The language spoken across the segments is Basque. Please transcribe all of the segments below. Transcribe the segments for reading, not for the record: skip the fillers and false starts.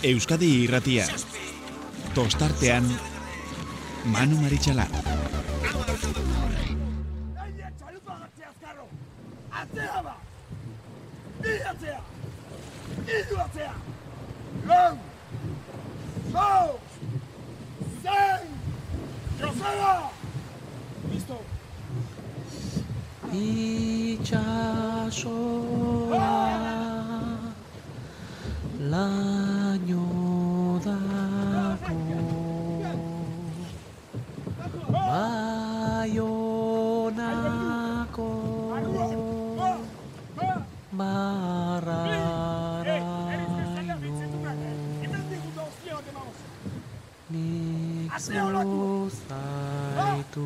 Euskadi Irratia. Tostartean Manu Maritxalar. Laino dako Baionako Barraraino Nik zuzaitu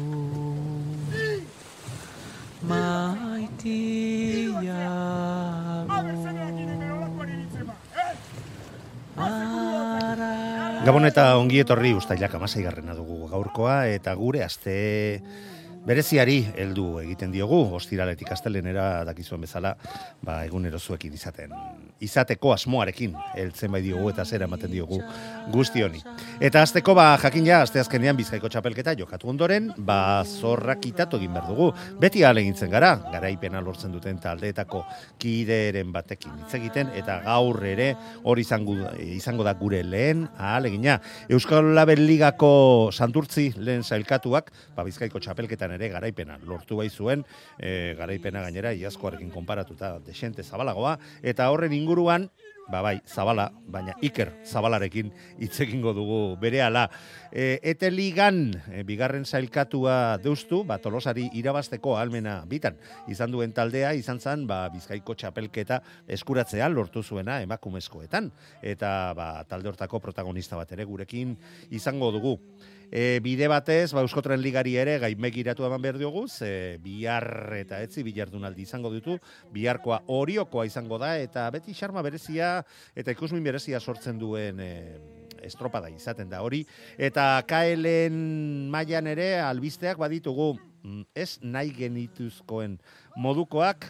Gabon eta ongi etorri Uztailak 16 dugu gaurkoa eta gure aste bereziari heldu egiten diogu. Ostiraletik astelehenera dakizuen bezala, egunero zuekin izateko asmoarekin heltzen bai diogu eta zera ematen diogu guzti honi. Eta asteko jakin ja asteazkenean Bizkaiko txapelketa jokatu ondoren, zorrak kitatu egin behar dugu. Beti ahalegintzen gara, garaipena lortzen duten taldeetako kideren batekin hitz egiten eta gaur ere hori izango da gure lehen ahalegina. Euskal Label Ligako Santurtzi lehen sailkatuak, Bizkaiko txapelketan ere garaipena lortu bai zuen, garaipena gainera iazkoarekin konparatuta desente zabalagoa, eta horren inguruan, Zabala, baina Iker Zabalarekin hitz egingo dugu berehala. Ete ligan bigarren sailkatua deustu, Tolosari irabazteko ahalmena bitan izan duen taldea, izan zen Bizkaiko txapelketa eskuratzea lortu zuena emakumezkoetan. Eta talde hortako protagonista bat ere gurekin izango dugu. Bide batez, Euskotren Ligari ere gainbegiratu eman behar diogu, bihar eta etzi bilardunaldi izango ditu, biharkoa Oriokoa izango da, eta beti xarma berezia eta ikusmin berezia sortzen duen estropada izaten da hori. Eta KLen mailan ere albisteak baditugu, ez nahi genituzkoen modukoak,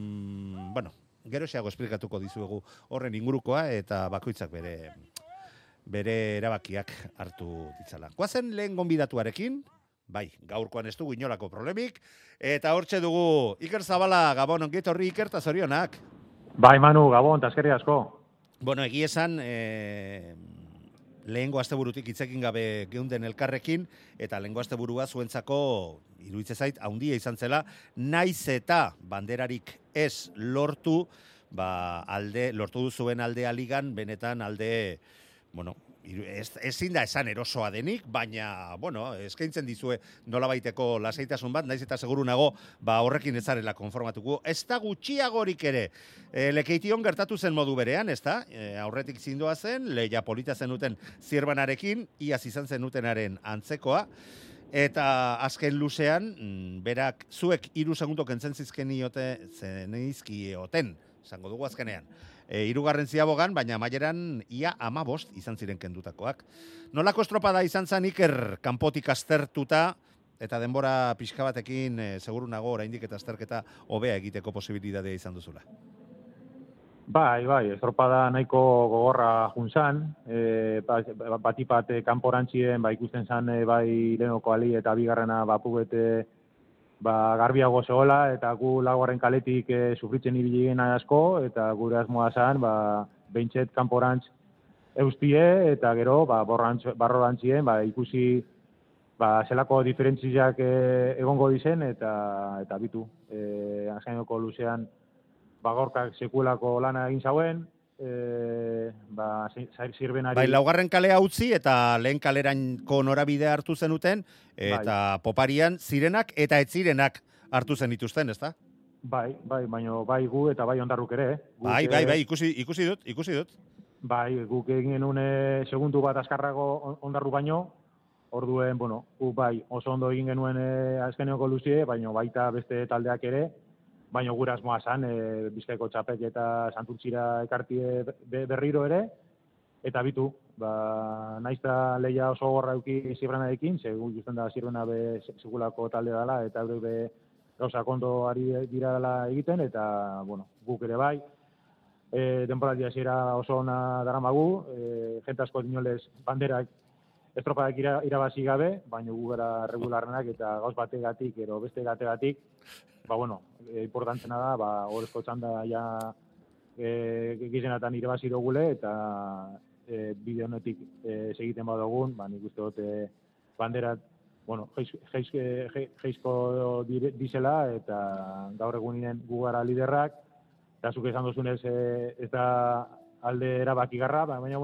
geroxeago esplikatuko dizuegu horren ingurukoa, eta bakoitzak bere erabakiak hartu ditzala. Goazen lehen gonbidatuarekin, gaurkoan ez dugu inolako problemik, eta hortxe dugu Iker Zabala, Gabon, ongi etorri Iker, eta zorionak. Manu, Gabon, eta eskerrik asko. Egia esan, lehengo asteburutik hitzekin gabe geunden elkarrekin, eta lehengo asteburua zuentzako iruditzen zait handia izan zela, naiz eta banderarik ez lortu, lortu duzuen aldea ligan, benetan alde, ezin da esan erosoa denik, baina, eskaintzen dizue nolabaiteko lasaitasun bat, naiz eta seguru nago, horrekin ez zarela konformatuko. Ez da gutxiagorik ere, Lekeition gertatu zen modu berean, ez da? Aurretik zindoa zen, lehia polita zenuten Zirbanarekin, iaz izan zenutenaren antzekoa, eta azken luzean, berak zuek 3 segundo kentzen zenizkioten, esango dugu azkenean. 3. ziabogan, baina amaieran ia 15 izan ziren kendutakoak. Nolako estropada izan zen Iker kanpotik aztertuta, eta denbora pixka batekin seguru nago oraindik eta azterketa hobea egiteko posibilitatea izan duzula? Estropada nahiko gogorra juntzan, batipat kanporantzien, ikusten zan lehenoko ali eta bigarrena pugete garbiago zegoela, eta gu laugarren kaletik sufritzen ibili ginen asko, eta gure asmoa zen, behintzet kanporantz eustie, eta gero, barrorantzien, ikusi, zelako diferentziak egongo dizen, eta bitu. Azkainoko luzean, gorkak sekuelako lana egin zauen, zirbenari... Laugarren kalea utzi eta lehen kaleranko norabidea hartu zenuten, eta poparian zirenak eta ez zirenak hartu zen dituzten, ez da? Baina gu eta ondarruk ere. Ikusi dut. Guk egin genuen segundu bat azkarrago ondarru baino, orduen, oso ondo egin genuen azkeneko luzie, baina baita beste taldeak ere, baina gure asmoa zen, Bizkaiko txapek eta Santurtzira ekartie berriro ere, eta bitu, naizta lehia oso gorra euki Zirbanarekin, segun justen da Zirbana segulako talde dela, eta gauza kondo ari dira dela egiten, eta, guk ere bai. denboraldi hasiera oso ona daramagu, jente asko dinolez banderak estropadak irabazi gabe, baina gu gara regularrenak eta gauz bategatik edo beste gategatik, importantzena da, horrezko txanda ja gizenatan irabazi dugule eta bide honetik segiten badugun, nik uste dut banderat geizko dizela eta gaur egunien gu gara liderrak, eta zuk esan duzunez ez da alde erabakigarra, baina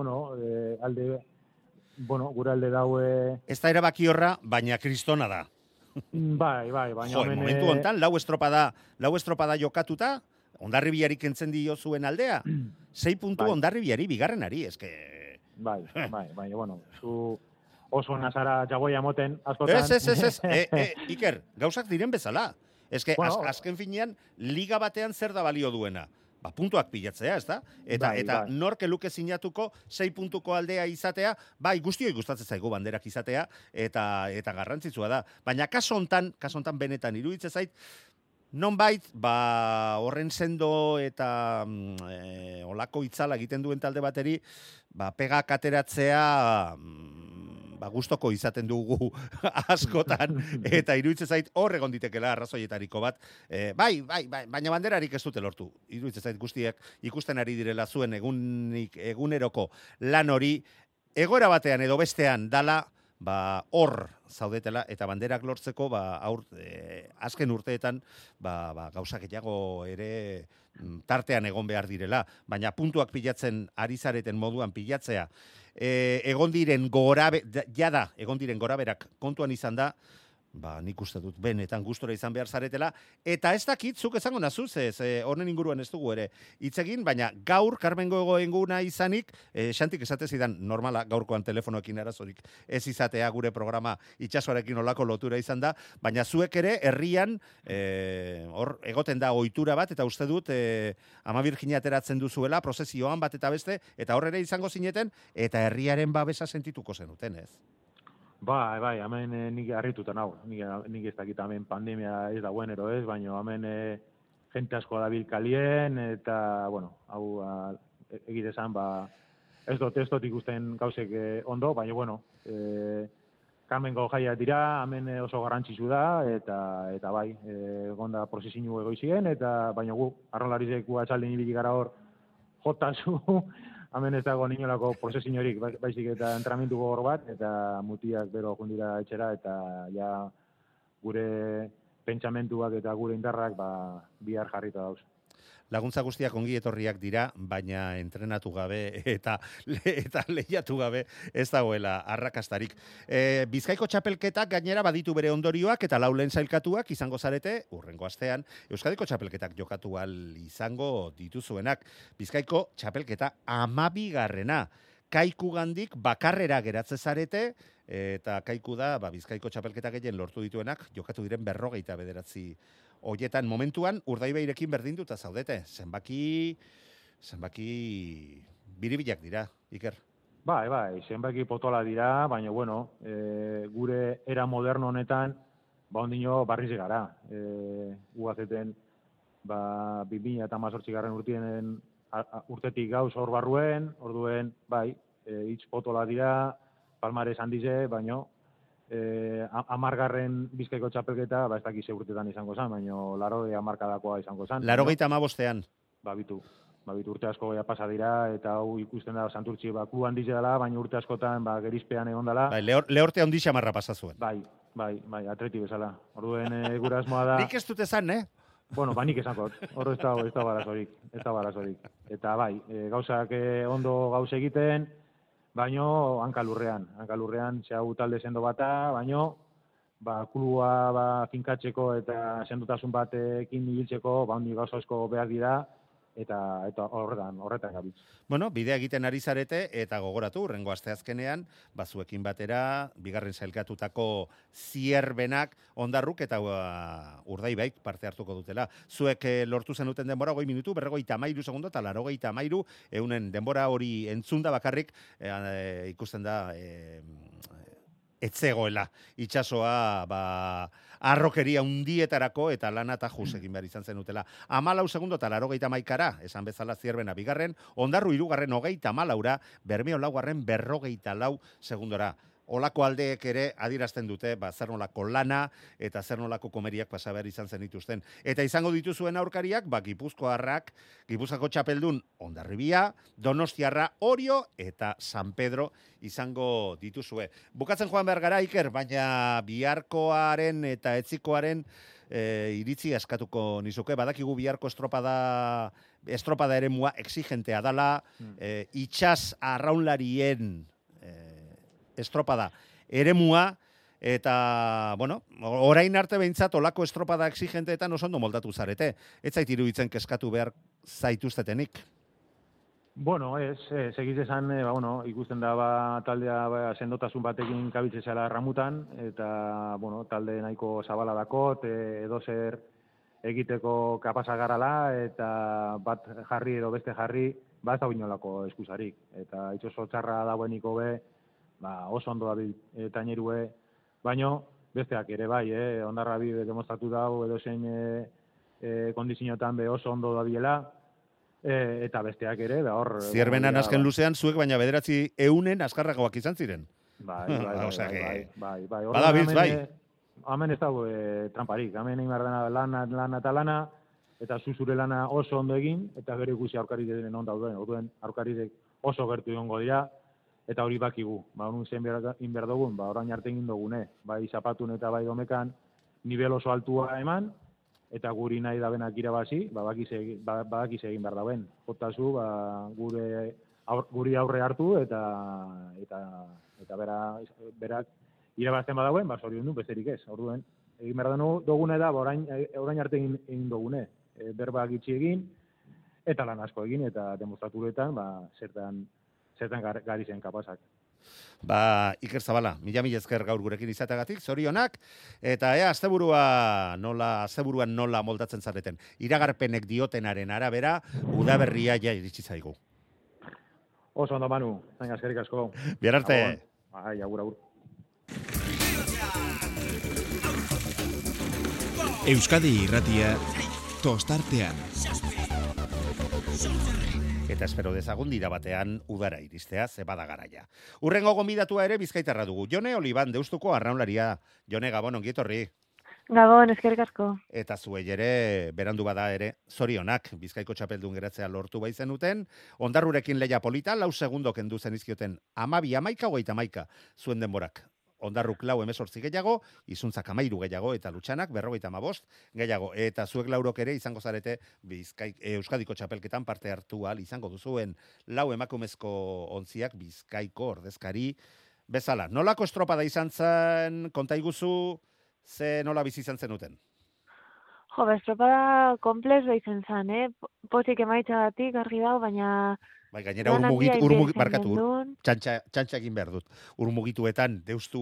gure alde daue... Ez da erabaki horra, baina kristona da. Bai, baina... Momentu hontan, lau estropada jokatuta, Hondarribiari kentzen dio zuen aldea, 6 puntu Hondarribiari bigarrenari, eske... Bai, baina, zu oso nazara jagoia moten askotan... Ez, Iker, gauzak diren bezala. Eske, azken finean, liga batean zer da balio duena? Puntuak pilatzea, ez da? Eta nork luke sinatuko 6 puntuko aldea izatea, guztioi gustatzen zaigu banderak izatea, eta garrantzitsua da. Baina kaso hontan benetan iruditzen zait, nonbait, horren sendo eta olako itzala egiten duen talde bateri, pegak ateratzea gustoko izaten dugu askotan, eta iruditzen zait hor egon ditekela arrazoietariko bat. Baina banderarik ez dute lortu. Iruditzen zait guztiak ikusten ari direla zuen eguneroko lan hori, egoera batean edo bestean dala, hor zaudetela, eta banderak lortzeko, azken urteetan, gauzak gehiago ere tartean egon behar direla, baina puntuak pilatzen ari zareten moduan pilatzea, egon diren goraberak kontuan izan da, nik uste dut benetan gustora izan behar zaretela, eta ez dakit, zuk esango nazuz, honen inguruan ez dugu ere hitz egin, baina gaur, Karmengo eguna izanik, Xantik esate zidan, normala, gaurkoan telefonoekin arazorik ez izatea gure programa itsasoarekin olako lotura izan da, baina zuek ere herrian, hor egoten da ohitura bat, eta uste dut, Ama Birjina ateratzen duzuela, prozesioan bat eta beste, eta hor ere izango zineten, eta herriaren babesa sentituko zenuten, ez? Bai, hemen nik harrituta nau. Nik ez dakit hemen pandemia ez dagoen ero ez, baina hemen jente asko dabil kalien, eta, hau egitezan, ez dut ikusten gauzek ondo, baina, Karmengo jaia dira, hemen oso garrantzitsu da, eta bai, gonda prozesinu egoizien, eta baina gu, arrolarizeko atxalden ibili gara hor, jotazu, hemen ez dago ninolako prozesinorik, baizik eta entrenamentu gogor bat, eta mutiak bero jundira etxera, eta ja gure pentsamentuak eta gure indarrak bihar jarrita dauz. Laguntza guztiak ongi etorriak dira, baina entrenatu gabe eta lehiatu gabe ez dagoela arrakastarik. Bizkaiko txapelketak gainera baditu bere ondorioak eta laulen sailkatuak izango zarete, urrengo astean, Euskadiko txapelketak jokatu ahal izango dituzuenak. Bizkaiko txapelketa 12. Kaikugandik bakarrera geratze zarete, eta Kaiku da Bizkaiko txapelketa gehien lortu dituenak, jokatu diren 59 hoietan momentuan Urdaibairekin berdinduta zaudete. Zenbaki biribilak dira, Iker. Bai, zenbaki potola dira, baina gure era moderno honetan ondino barriz gara. Ugazeten 2018 urtetik gauz hor barruen, orduen, hitz potola dira, palmares handize, baina 10. Bizkaiko txapelketa, ez dakiz urtetan izango zen, baina 80 hamarkadakoa izango zen. 85. Bitu urte asko pasa dira, eta hau ikusten da Santurtzi klu handize dela, baina urte askotan gerizpean egon dela. Lehorte handi xamarra pasa zuen. Bai, atleti bezala. Orduen gure asmoa da... Nik ez dut esan, Nik esankot, hor ez da barazorik. Eta gauzak ondo gauz egiten, baino hankalurrean, zehau talde sendo bata, baino, klua finkatzeko eta sendotasun batekin ibiltzeko, honi gauza asko behar dira, eta horretan gabitz. Bidea egiten ari zarete, eta gogoratu, urrengo asteazkenean, zuekin batera, bigarren sailkatutako zierbenak, Ondarruk eta Urdaibaik parte hartuko dutela. Zuek lortu zenuten denbora 2 minutu, 53 segundo, eta 83, eunen denbora hori entzunda bakarrik, ikusten da, etzegoela itsasoa arrokeria undietarako eta lana eta jus egin behar izan zenutela. 14 segundo eta 81ra, esan bezala Zierbena bigarren, Ondarru hirugarren 34ra, Bermeo laugarren 44 segundora. Olako aldeek ere adierazten dute, zer nolako lana eta zer nolako komeriak pasa behar izan zenituzten. Eta izango dituzuen aurkariak, Gipuzkoarrak, Gipuzkoako txapeldun Hondarribia, Donostiarra, Orio eta San Pedro izango dituzue. Bukatzen joan behar gara, Iker, baina biharkoaren eta etzikoaren iritzi askatuko nizuke. Badakigu biharko estropada eremua exigentea dala, itxas arraunlarien estropada eremua, eta, orain arte behintzat olako estropada exigenteetan oso ondo moldatu zarete. Ez zait iruditzen keskatu behar zaituztetenik? Segiz esan, ikusten da taldea sendotasun batekin kabitze zela ramutan, eta, talde nahiko zabala dakot, edo zer egiteko kapasa garala, eta bat jarri edo beste jarri, ez da binolako eskusarik. Eta itxoso txarra daueniko oso ondo dabil tainerue, baino besteak ere bai, Hondarrabi demostratu dau edo zein kondizioetan oso ondo dabilela, eta besteak ere, hor... Zierbenan azken luzean, zuek baina 900 azkarragoak izan ziren. Bai. Badabiltz, bai. Hemen ez dago tramparik, hemen egin behar dena lana, eta zure lana oso ondo egin, eta gero ikusi aurkarik on dauden, aurkarik oso gertu egongo dira, eta hori bakigu, honun zen behar dugun, orain arte egin dugune, bai zapatun eta bai domekan, nivel oso altua eman, eta guri nahi da benak irabazi, badakiz egin behar dauen. Jotazu, guri aurre hartu, eta berak irabazten badauen, zorion du, besterik ez. Orduen, egin behar dugune da, orain arte egin dugune, berba gitxi egin, eta lan asko egin, eta demostraturetan, zertan gari zen kapazak. Iker Zabala, mila esker gaur gurekin izateagatik, zorionak, eta asteburuan nola moldatzen zareten. Iragarpenek diotenaren arabera, udaberria ja iritsi zaigu. Oso ondo, Manu, zain askerik asko. Bihar arte. Agur. Euskadi Irratia, tostartean. Eta espero dezagun dira batean udara iristea, bada garaia. Urrengo gonbidatua ere bizkaitarra dugu. Jone Oliban, Deustuko arraunlaria. Jone, Gabon, ongi etorri. Gabon, eskerrik asko. Eta zuei ere, berandu bada ere, zorionak, Bizkaiko txapeldun geratzea lortu baizenuten. Ondarrurekin leia polita, 4 segundo kendu zenizkioten 12-11, zuen denborak. Ondarruk 4 gehiago, Izuntzak 13 gehiago, eta Lutxanak 55 gehiago. Eta zuek 4 ere izango zarete Euskadiko txapelketan parte hartu ahal izango duzuen 4 emakumezko ontziak Bizkaiko ordezkari bezala. Nolako estropada izan zen, konta iguzu, nola bizi izan zenuten? Estropada komplexua izan zen, Pozik emaitzagatik argi dago, baina... Gainera txantxa egin behar dut. Urmugituetan, Deustu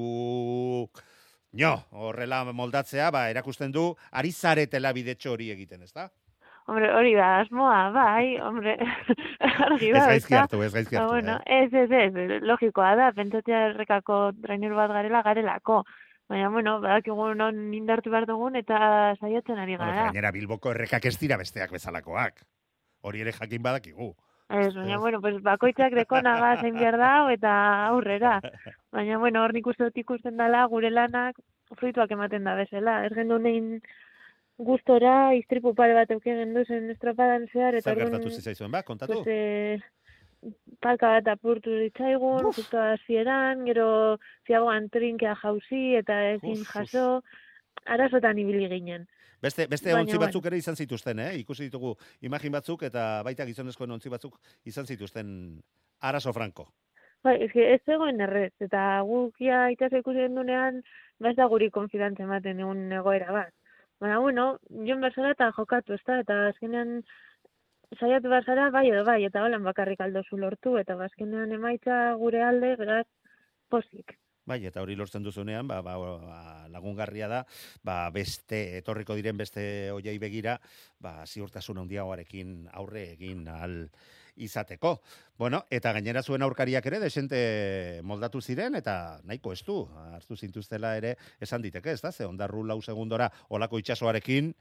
horrela moldatzea, erakusten du, ari zaretela bidetxo hori egiten, ez da? Hombre, hori da, asmoa, bai, argi da. Ez gaizki hartu. Ez, logikoa da, pentsatzea errekako trainer bat garelako. Baina, badakigu non indartu behar dugun eta saiatzen ari gara. Gainera, Bilboko errekak ez dira besteak bezalakoak. Hori ere jakin badakigu. Ez, baina, bakoitzak dekonaga zein behar da, eta aurrera. Baina, hor nik uste dut ikusten dela, gure lanak fruituak ematen da bezala. Ez gendu nein gustora, istripu pare bat euken gendu zen estropadan zehar. Zer gertatu zizaizuen, kontatu? Palka bat apurtu ditzaigun, justo hasieran, gero ziagoan trinkea jauzi, eta ezin jaso, arazotan ibili ginen. Beste ontzi batzuk ere izan zituzten, ikusi ditugu imagin batzuk eta baita gizonezkoen ontzi batzuk izan zituzten arazo franko. Ez zegoen errez, eta gukia itase ikusi gendunean, ez da guri konfidantza ematen egun egoera bat. Baina, joan berzara eta jokatu, eta azkenean saiatu berzara bai edo bai, eta holan bakarrik aldozu lortu, eta azkenean emaitza gure alde, beraz, pozik. Bai, eta hori lortzen duzunean, lagungarria da, beste, etorriko diren beste hoiei begira, ziurtasun handiagoarekin aurre egin ahal izateko. Bueno, eta gainera zuen aurkariak ere desente moldatu ziren, eta nahiko ez du, hartu zintuztela ere esan diteke, ez da? Ze ondarru 4 segundora olako itsasoarekin,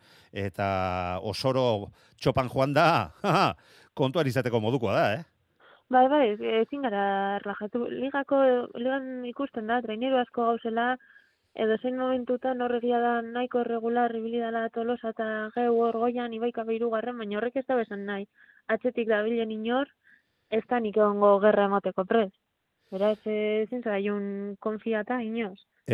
eta osoro txopan joan da, kontuan izateko modukoa da, Bai, ezin gara rajatu. Ligan ikusten da, traineru asko gauzela, edo zein momentutan horregia da nahiko regular ibili dela Tolosa eta geu hor goian Ibaika 3. Baina horrek ez da besan nahi. Atzetik dabilen inor, ez da nik egongo gerra emoteko prez. Beraz, ezin zaraiun konfiata inoz.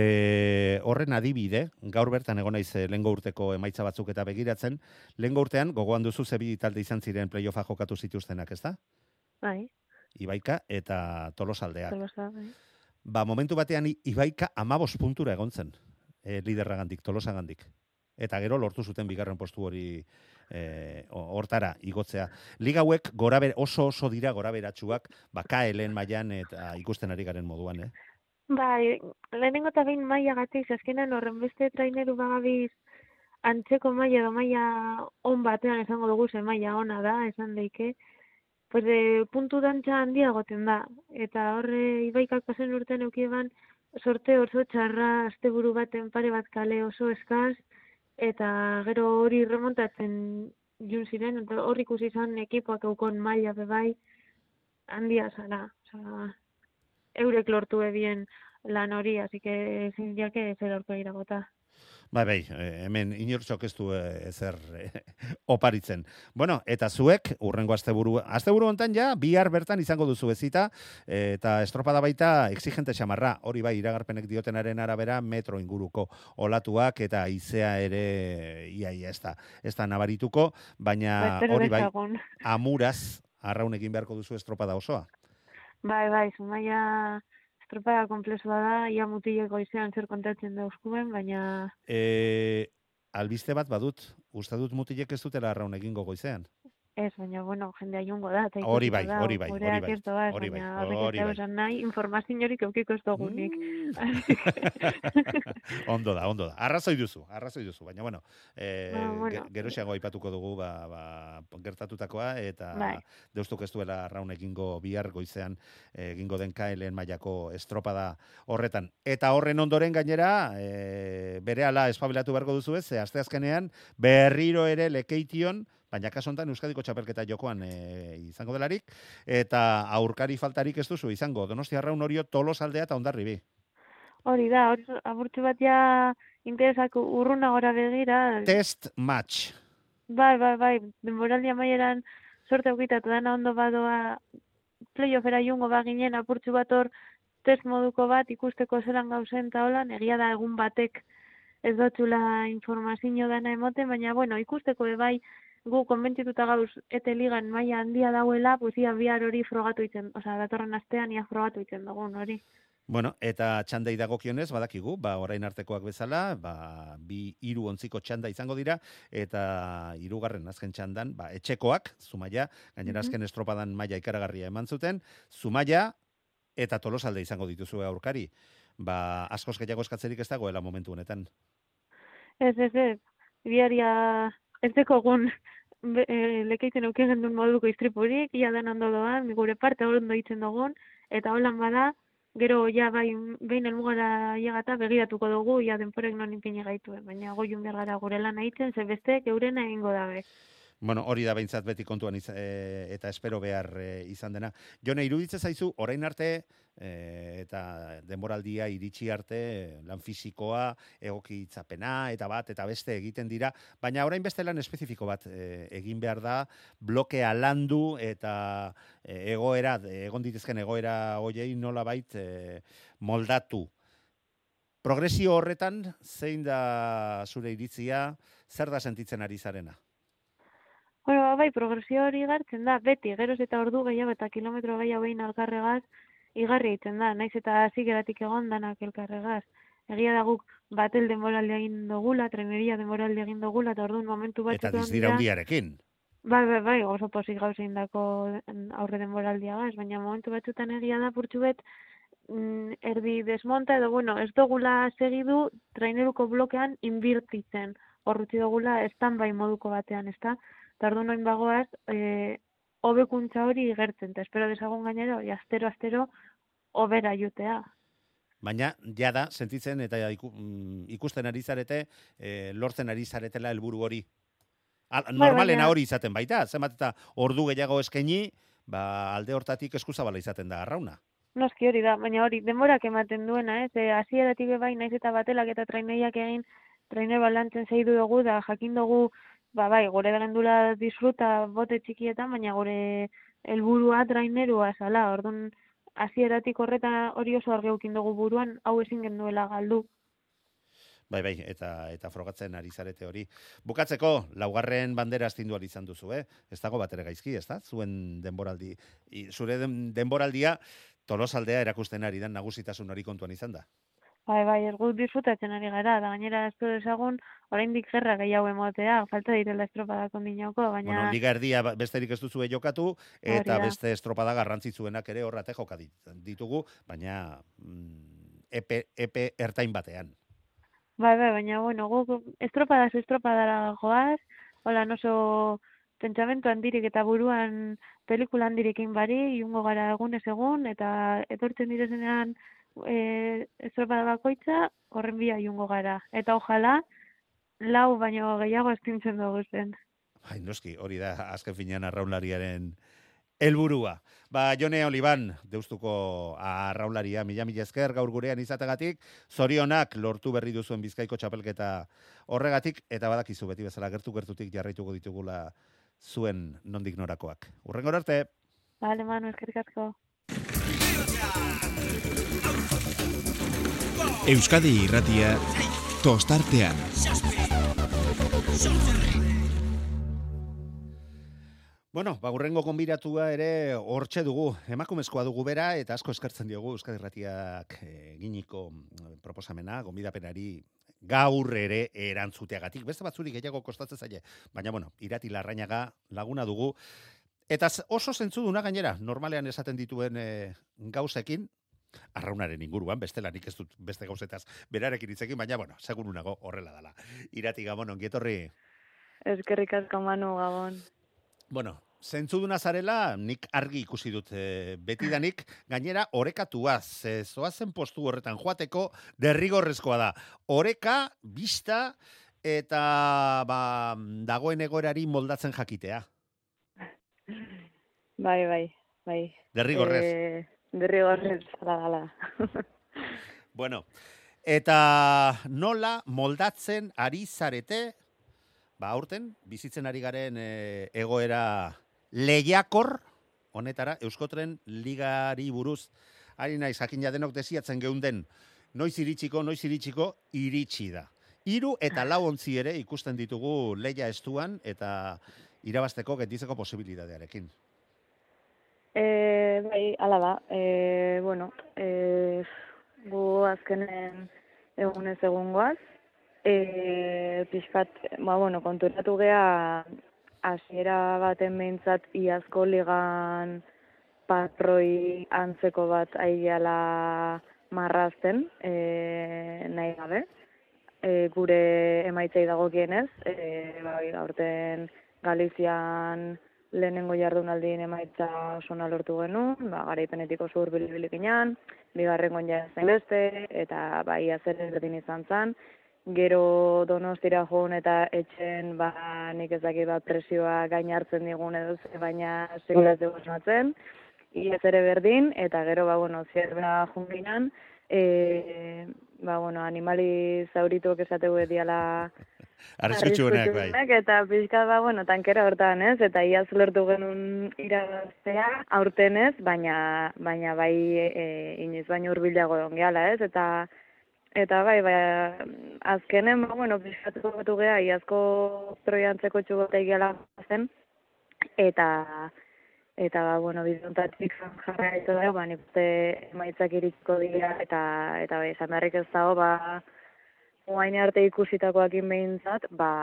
Horren adibide, gaur bertan egon naiz lehengo urteko emaitza batzuk eta begiratzen, lehengo urtean gogoan duzu zebi talde izan ziren playoffa jokatu zituztenak, ez da? Bai. Ibaika eta Tolosaldeak. Tolosa, bai. Momentu batean Ibaika 15 puntura egon zen, liderragandik, Tolosagandik. Eta gero lortu zuten bigarren postu hori hortara igotzea. Liga hauek oso dira goraberatsuak, KL-en mailan eta ikusten ari garen moduan, Bai, lehenengo eta behin mailagatik, azkenan horren beste traineru bagabiz antzeko maila edo maila on batean esango dugu, ze maila ona da, esan daike, pues puntu dantza handiagoten da. Eta horre Ibaikak pasen urtean eukieban sorte oso txarra, asteburu baten pare bat kale oso eskaz, eta gero hori remontatzen jun ziren, eta hor ikusi izan ekipoak eukon maila bebai handia zara. Osa, eurek lortu ebien lan hori, así que ezin jake zer aurka iragota. Bai, hemen inortxok ez du ezer oparitzen. Bueno, eta zuek, urrengo asteburu hontan ja, bihar bertan izango duzu ezita, eta estropada baita exigente xamarra, hori bai, iragarpenek diotenaren arabera, metro inguruko olatuak, eta haizea ere iaia ez da nabarituko, baina hori bai, amuraz, arraun egin beharko duzu estropada osoa. Bai, Zumaia estropada komplexua da, ia mutileko izean zer kontatzen dauzkuen, baina... Albiste bat badut, uste dut mutilek ez dutela arraun egingo goizean. Ez, baina, bueno, jendea jungo da. Hori bai. Nahi, informaziorik eukiko ez dugunik. Ondo da. Arrazoi duzu. Baina, bueno, geroxeago aipatuko dugu gertatutakoa, eta deustuk ez duela arraun egingo bihar goizean egingo den KL-en mailako estropada horretan. Eta horren ondoren gainera, berehala espabilatu beharko duzu ez, asteazkenean berriro ere Lekeition, baina kaso honetan Euskadiko txapelketa jokoan izango delarik, eta aurkari faltarik ez duzu izango, Donostia Arraun Orio, Tolosaldea eta Hondarribi. Hori da, aburtzu bat ja interesak urruna gora begira. Test match. Bai, denboraldi amaieran sorte aukitatu dana ondo badoa playoffera jungo baginen apurtzu bat hor test moduko bat ikusteko zelan gauzen eta holan, egia da egun batek ez dotzula informazio dana emoten, baina bueno, ikusteko bai gu konbentzituta gauz ete ligan maila handia dauela, pues ia bihar hori frogatu itzen, osea, datorren astean ia frogatu itzen dugun hori. Bueno, eta txandei dagokionez, badakigu, orain artekoak bezala, 2-3 ontziko txanda izango dira, eta 3. azken txandan, etxekoak, Zumaia, gainera azken estropadan maila ikaragarria eman zuten, Zumaia eta Tolosalde izango dituzu aurkari. Askoz gehiago eskatzerik ez dagoela momentu honetan. Ez, biharia ez dekogun Lekeiten euken duen moduko istripurik, ia den ondo doan, gure parte ondo itzen dugun, eta holan bada, gero ja behin elmugara llegata begiratuko dugu, ia denporek non inpini gaituen, baina goiun behar gara gure lan aitzen, ze besteek eurena egingo dabe. Bueno, hori da behintzat beti kontuan eta espero behar izan dena. Jone, iruditzen zaizu, orain arte eta denboraldia iritsi arte lan fisikoa, egokitzapena eta bat eta beste egiten dira, baina orain beste lan espezifiko bat egin behar da, blokea landu eta egon ditezken egoera hoiei nolabait moldatu. Progresio horretan, zein da zure iritzia, zer da sentitzen ari zarena? Bueno, bai, progresio hori igartzen da, beti, geroz eta ordu gehiago eta kilometro gehiago behin alkarregaz, igarri egiten da, naiz eta zigeratik egon danak elkarregaz. Egia da guk batel denboraldi egin dugula, treneria denboraldi egin dugula, eta orduan momentu batzutan eta dizdira hundiarekin. Bai, oso pozik gauzein dako aurre denboraldiagaz, baina momentu batzutan egia da purtsu bet, erdi desmonta edo, bueno, ez dugula segidu traineruko blokean inbirtitzen. Hor utzi dugula stand-by moduko batean, ezta? Eta orduan orain bagoaz, hobekuntza hori igertzen, eta espero dezagun gainera, astero hobera jutea. Baina, jada, sentitzen eta ikusten ari zarete, lortzen ari zaretela helburu hori. Normalena hori izaten baita, zenbat eta ordu gehiago eskaini, alde hortatik eskuzabala izaten da arrauna. Noski hori da, baina hori, denborak ematen duena, ez? Hasieratik bai, naiz eta batelak eta traineiak egin, trainer balantzen zeidu dugu, da jakin dugu, bai, gure gendula disfruta bote txikietan, baina gure helburua trainerua zala, orduan, hasieratik horretan hori oso argi eduki dugu buruan, hau ezin genuela galdu. Bai, eta frogatzen ari zarete hori. Bukatzeko, laugarren bandera astindu izan duzu, Ez dago bat ere gaizki, ez da? Zuen denboraldi, zure denboraldia Tolosaldea erakusten ari dan nagusitasun hori kontuan izan da. Bai, ez gut disfrutatzen ari gara, da gainera ez du ezagun, oraindik gerra gehiago emotea, falta direla estropadak ondinauko, baina... Bueno, liga erdia besterik ez duzue jokatu, eta beste estropada garrantzitsuenak ere horrate joka ditugu, baina epe ertain batean. Bai, baina, bueno, guk estropadara goaz, hola, oso pentsamentu handirik eta buruan pelikula handirikin bari, jungo gara egunez egun, eta etortzen direzenean estropada bakoitza, horren bila jungo gara. Eta ojala, lau baino gehiago estintzen dugu zen. Bai, noski, hori da, azken finean arraunlariaren helburua. Jone Oliban, Deustuko arraunlaria, mila esker gaur gurean izategatik, zorionak lortu berri duzuen Bizkaiko txapelketa horregatik, eta badakizu beti bezala gertutik jarraituko ditugula zuen nondik norakoak. Hurrengora arte. Bale, Manu, eskerrik asko. Euskadi Irratia tostartean. Bueno, hurrengo gonbidatua ere hortxe dugu, emakumezkoa dugu bera, eta asko eskertzen diogu Euskadi Irratiak eginiko proposamena, gonbidapenari gaur ere erantzuteagatik. Beste batzuri gehiago kostatzen zaie, baina bueno, Irati Larrañaga laguna dugu, eta oso zentzuduna gainera, normalean esaten dituen gauzekin, arraunaren inguruan, bestela nik ez dut beste gauzetaz berarekin hitzekin, baina bueno, seguru nago horrela dela. Irati, Gabon, ongi etorri. Eskerrik asko, Manu, Gabon. Bueno, zentzuduna zarela, nik argi ikusi dut betidanik, gainera orekatuaz, zoazen postu horretan joateko derrigorrezkoa da. Oreka, bista, eta dagoen egoerari moldatzen jakitea. Bai. Derrigorrez. Derrigorrez, ala. Bueno, eta nola moldatzen ari zarete, aurten, bizitzen ari garen egoera lehiakor, honetara, Euskotren ligari buruz, ari naiz, jakin denok desiatzen geunden, noiz iritsiko, iritsi da. 3 eta 4 ontzi ere ikusten ditugu lehia estuan, eta irabazteko getizeko posibilidadearekin. Bai, ala da. Bueno, gu azkenen egunez egungoaz, pixkat, konturatu gea hasiera baten behintzat iazko ligan patroi antzeko bat aigeala marrazten, nahi gabe, gure emaitzei dagokienez, aurten Galizian lehenengo jardunaldien emaitza oso lortu genuen, garaipenetik oso hurbil-bilikinan, bigarrengoan ja zain beste, eta iaz ere berdin izan zen. Gero Donostira joan eta etxen, nik ez dakit presioa gain hartzen digun edo baina segulaz dugu esmatzen. Iaz ere berdin, eta gero, zierbera junginan, animali zaurituak esategu ediala arriskutsuenak, bai. Eta pixka, tankera hortan, ez? Eta iaz lortu genuen irabaztea, aurten ez, baina inoiz baino hurbilago egon gehala, ez? Eta azkenen, pixkatuko batu geha, iazko troiantzeko txugotea egiala zen, eta bizontatik jarra gaitu da, nik uste emaitzak iritsiko dira, eta esan beharrik ez dago, guain arte ikusitakoakin behintzat,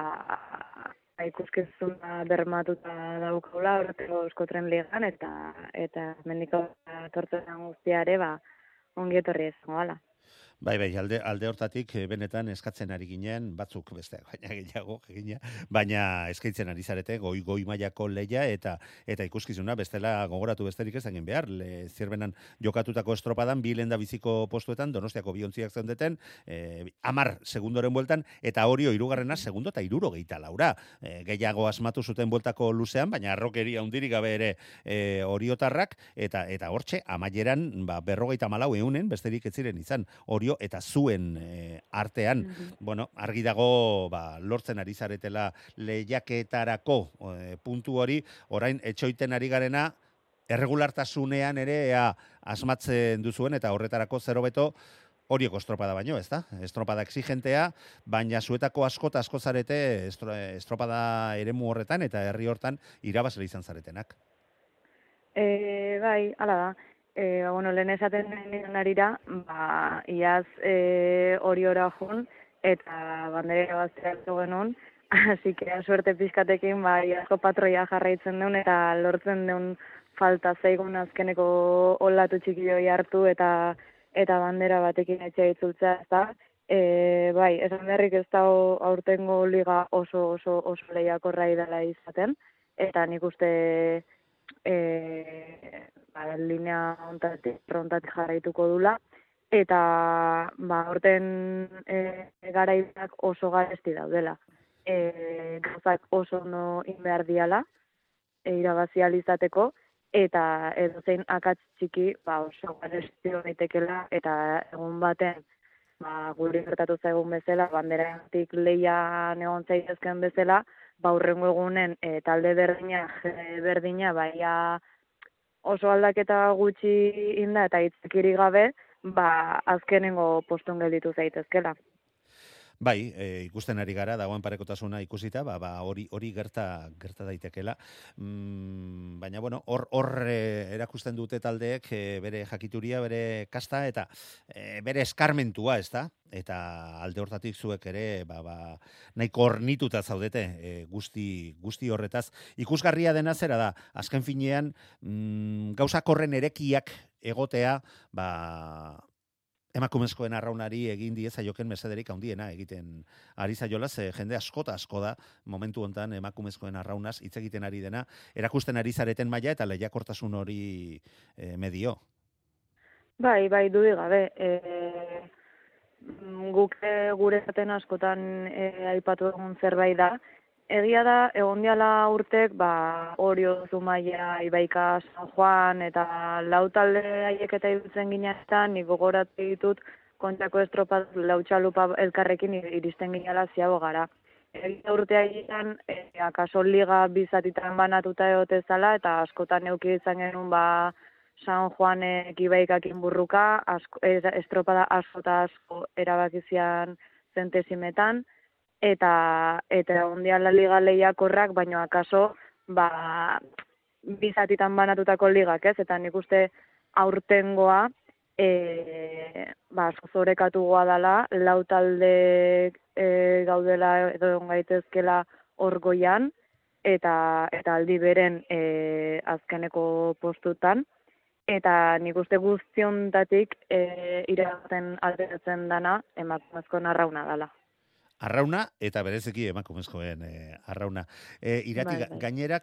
ikuskizuna bermatuta daukaula, horretiko Euskotren ligan, eta mendiko tortzen guztiare, ongi etorri izango dela. Bai, alde hortatik benetan eskatzen ari ginen, batzuk besteak, baina gehiago, baina eskaintzen ari zarete, goi mailako leia eta ikuskizuna, bestela gogoratu besterik ez egin behar, zierbenan jokatutako estropadan, bi lenda biziko postuetan, Donostiako biontziak zeundeten, 10 segundoren bueltan, eta Orio hirugarrena segundo eta 64. Gehiago asmatu zuten bueltako luzean, baina arrokeria hundirik gabe ere Oriotarrak, eta hortxe, amaieran, 54 eunen, besterik ez ziren izan, Orio eta zuen artean, bueno, argi dago lortzen ari zaretela lehiaketarako puntu hori, orain etxoiten ari garena, erregulartasunean ere asmatzen duzuen, eta horretarako zero beto, Orioko estropada baino, ez da? Estropada exigentea, baina zuetako asko zarete estropada eremu horretan, eta herri hortan irabazle izan zaretenak. Bai, hala da. Bueno, lehen esaten den arira, iaz Oriora jun, eta bandera baztea genuen, así que suerte pizkatekin, iazko patroia jarraitzen duen, eta lortzen duen falta zaigun azkeneko olatu txikioi hartu, eta bandera batekin etxe itzultzea, ez da. Bai, esan berrik ez da aurtengo liga oso lehiakorra dela izaten, eta nik uste linea hontatik jarraituko dula, eta aurten garaiak oso garesti daudela. Gauzak oso ondo inbehar diala, irabazi alizateko, eta edozein akats txiki oso garesti daitekela, eta egun baten guri gertatu zaigun bezala, banderatik lehian egon zaitezken bezala, hurrengo egunen talde berdina, baina oso aldaketa gutxi inda eta hitzekiri gabe, azkenengo postun gelditu zaitezkela. Bai, ikusten ari gara, dagoen parekotasuna ikusita, hori gerta daitekela. Baina, bueno, hor erakusten dute taldeek bere jakituria, bere kasta, eta bere eskarmentua, ez da? Eta alde hortatik zuek ere, nahiko ornituta zaudete guzti horretaz. Ikusgarria dena zera da, azken finean, gauzak horren erekiak egotea, emakumezkoen arraunari egin dieza joken mesederik handiena egiten ari zaiola, jende asko da momentu hontan emakumezkoen arraunaz hitz egiten ari dena, erakusten ari zareten maila eta lehiakortasun hori medio. Bai, dudik gabe. Guk gure zaten askotan aipatu egun zerbait da. Egia da, egon diala urtek, Orio, Zumaia, Ibaika, San Juan, eta lau talde haiek eta irutzen ginean, nik gogoratu ditut, kontrako estropat lautxalupa elkarrekin iristen gineala ziago gara. Egia urte haietan, akaso liga bizatitan banatuta egotezala, eta askotan euki izan genuen San Juanek Ibaikakin burruka, estropada asko erabakizian zentesimetan, eta ondiala liga lehiakorrak, baino akaso bizatitan banatutako ligak, ez? Eta nik uste aurtengoa asko zorekatu goa dela, lau talde gaudela edo gaitezkela hor goian, eta aldi beren azkeneko postutan, eta nik uste guztiontatik irabaten alderatzen dana emakumezko arrauna dela. Arrauna eta bereziki emakumezkoen arrauna. Irati, gainera,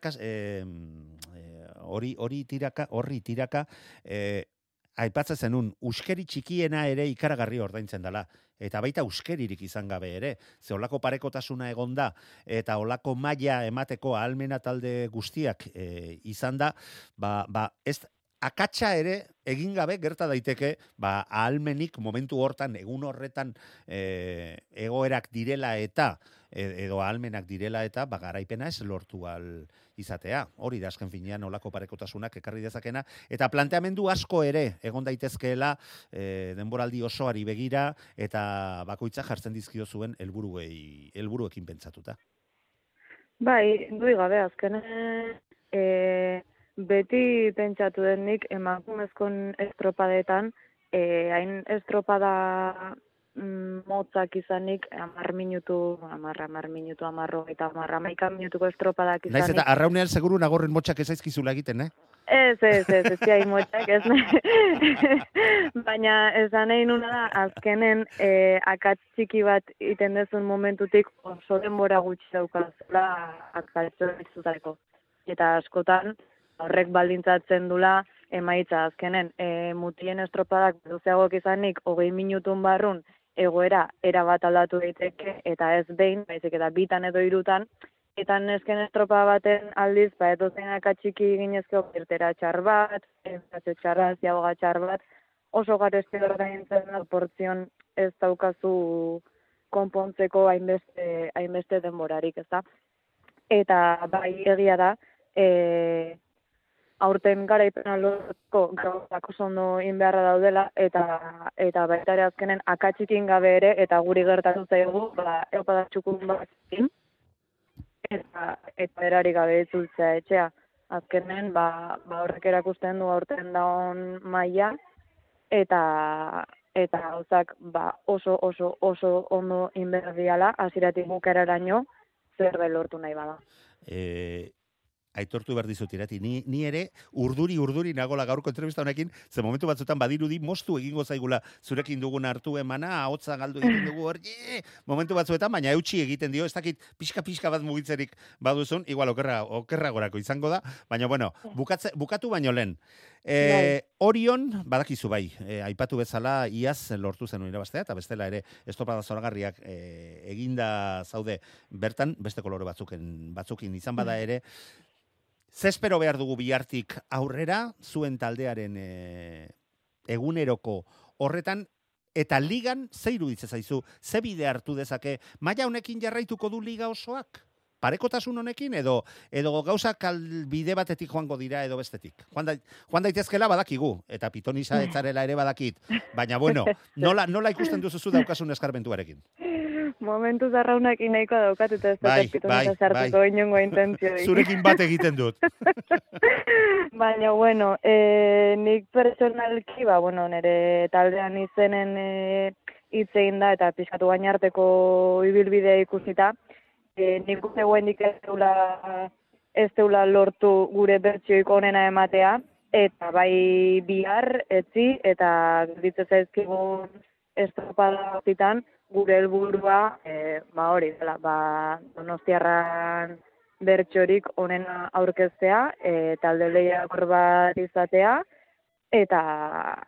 hori tiraka, aipatzen zenun, uskeri txikiena ere ikaragarri ordaintzen dela. Eta baita uskeririk izan gabe ere. Ze olako parekotasuna egonda eta olako maila emateko ahalmena talde guztiak izan da, ez akatsa ere egin gabe gerta daiteke, ahalmenik momentu hortan, egun horretan egoerak direla eta edo ahalmenak direla eta garaipena ez lortu al izatea. Hori da azken finean olako parekotasunak ekarri dezakena, eta planteamendu asko ere egon daitezkeela denboraldi osoari begira eta bakoitza jartzen dizkio zuen helburuekin pentsatuta. Bai, dui gabe azkenen beti pentsatu denik emakumezkon estropadetan, hain estropada motzak izanik, 10 minutu, 11 minutuko estropadak izanik. Naiz eta arraunean seguru nagorren motxak ezaizkizula egiten, Ez ziai motxak, ez nahi. Baina esan nahi nuna da, azkenen akats txiki bat iten dezun momentutik oso denbora gutxi daukazula akatso izutako. Eta askotan horrek baldintzatzen dula emaitza azkenen. Mutien estropadak duzeagok izanik 20 minutun barrun egoera erabat aldatu daiteke eta ez behin, baizik eta bitan edo hirutan, eta nesken estropa baten aldiz, edozein akatxiki ginezko irtera txar bat, enfazio txarra, ziagoga txar bat, oso garesti ordaintzen da, portzion ez daukazu konpontzeko hainbeste denborarik, ez da. Eta bai egia da, aurten garaipena lortzeko gauzak oso ondo inbeharra daudela, eta baita ere azkenen akatxikin gabe ere, eta guri gertatu zaigu, eupada txukun bat eta erarik gabe itzultzea etxea. Azkenen, horrek erakusten du aurten daun maila, eta gauzak oso ondo inberdiala, hasieratik bukaeraraino zerbait lortu nahi bada. Aitortu behar dizut irati, ni ere urduri nagola gaurko entrevista honekin, ze momentu batzutan badirudi moztu egingo zaigula zurekin dugun hartu emana, ahotsa galdu egiten dugu hor, momentu batzuetan, baina eutxi egiten dio, ez dakit pixka bat mugitzerik baduzun, igual okerragorako izango da, baina bueno, bukatu baino lehen. Orion, badakizu bai, aipatu bezala iaz lortu zenuen irabaztea, eta bestela ere estopada zoragarriak eginda zaude bertan, beste kolore batzukin izan bada ere, Zespero behar dugu bihartik aurrera, zuen taldearen eguneroko horretan, eta ligan, ze iruditzen zaizu, ze bide hartu dezake, maila honekin jarraituko du liga osoak? Parekotasun honekin, edo gauzak bide batetik joango dira edo bestetik? Joan daitezkela badakigu, eta pitonisa etzarela ere badakit, baina bueno, nola ikusten duzuzu daukasun eskarmentuarekin? Momentu zarraunakin nahiko daukat, eta ez dut pitonisa sartuko inongo intentzio. Zurekin bat egiten dut. Baina, bueno, nik pertsonalki, nire taldean izenen hitzein da, eta pixkatu gainarteko ibilbidea ikusita, nik uste guendik ez deula lortu gure bertsioik onena ematea, eta bai bihar, etzi, eta ditzen zaizkigun estropada hortitan, gure helburua hori dela, Donostiarran bertsorik onena aurkeztea, talde lehiakor bat izatea, eta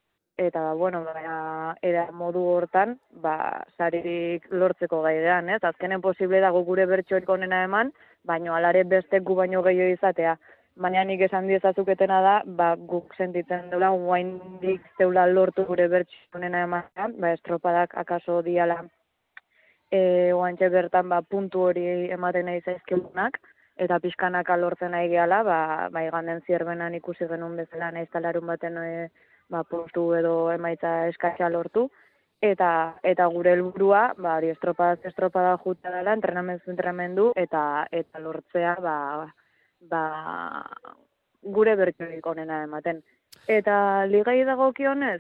era modu hortan, saririk lortzeko gaidean, ez? Azkenen posible dago gure bertsorik onena eman, baino alare bestek gu baino gehiago izatea. Baina nik esan diezazuketena da, guk sentitzen dela, guaindik zeula lortu gure bertsorik onena ematea, estropadak akaso diala guantxe bertan puntu hori ematen nahi zaizkigunak, eta pixkanaka lortzen nahi gehala, iganden zierbenan ikusi genuen bezala, nahiz talarun baten postu edo emaitza eskatxa lortu, eta gure helburua, estropada juta dela, entrenamendu, eta lortzea, gure bertsorik onena ematen. Eta ligai dagokionez,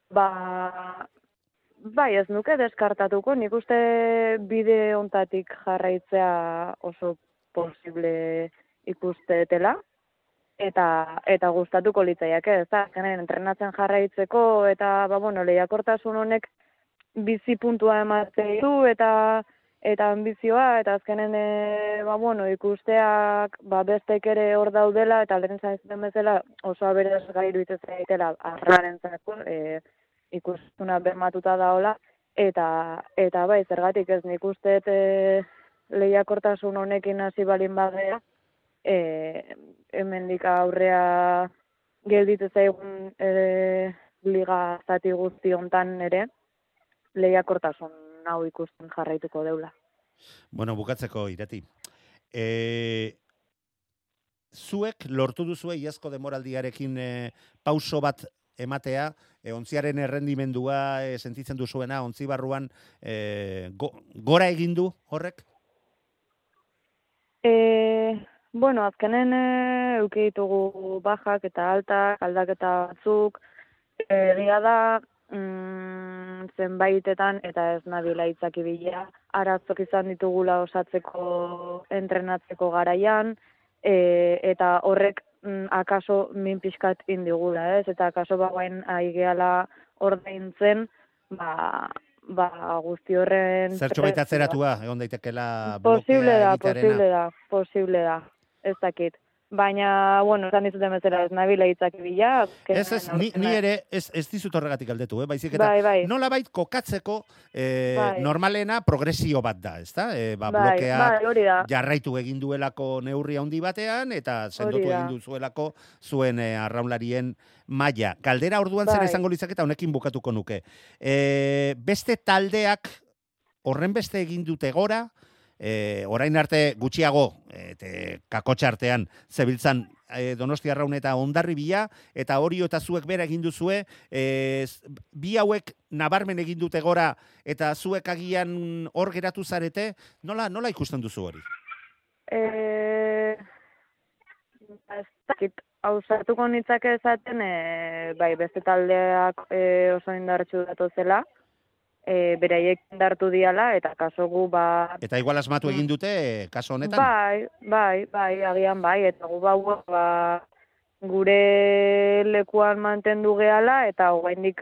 ez nuke deskartatuko, nik uste bide ontatik jarraitzea oso posible ikustetela, eta gustatuko litzaiake, ez da, entrenatzen jarraitzeko, eta lehiakortasun honek bizi puntua ematen du, eta ambizioa, eta azkenen ikusteak bestek ere hor daudela, eta alderen zaizten bezala oso aberazgai iruditzen zaitela arraren zako, ikustuna bermatuta daola, eta zergatik ez nik usteet lehiakortasun honekin hasi balin bagea, hemendik aurrea gelditzen zaigun liga zati guzti hontan ere, lehiakortasun hau ikusten jarraituko deula. Bueno, bukatzeko irati. Zuek lortu duzue iazko demoraldiarekin pauso bat ematea, ontziaren errendimendua sentitzen duzuena, ontzi barruan gora egin du horrek? Azkenen euki ditugu bajak eta altak, aldaketa batzuk, egia da, zenbaitetan, eta ez nabila itzaki bila, aratzok izan ditugula osatzeko entrenatzeko garaian, eta horrek akaso min pixkat indigula, ez? Eta akaso bagoen aigeala ordaintzen, ba guzti horren... Zertxo baita atzeratua, egon daitekela blokea egitearena. Posible da, ez dakit. Baina, bueno, esan dizuten bezala ez nabila hitzak bila. Ni ere ez dizut horregatik aldetu, baizik eta nolabait kokatzeko normalena progresio bat da, ezta? Blokea jarraitu egin duelako neurri handi batean eta sendotu egin duzuelako zuen arraunlarien maila. Galdera orduan zer izango litzake eta honekin bukatuko nuke. Beste taldeak horren beste egin dute gora, orain arte gutxiago kakotxa artean zebiltzan Donostia Arraun eta Hondarribia eta Orio eta zuek bera egin duzue, bi hauek nabarmen egin dute gora eta zuek agian hor geratu zarete, nola ikusten duzu hori? Ez dakit, hausartuko nitzake esaten, bai, beste taldeak oso indartsu datozela, beraiek indartu diala, eta kaso gu Eta igual asmatu egin dute, kaso honetan? Bai, agian bai, eta gu gure lekuan mantendu gehala, eta oraindik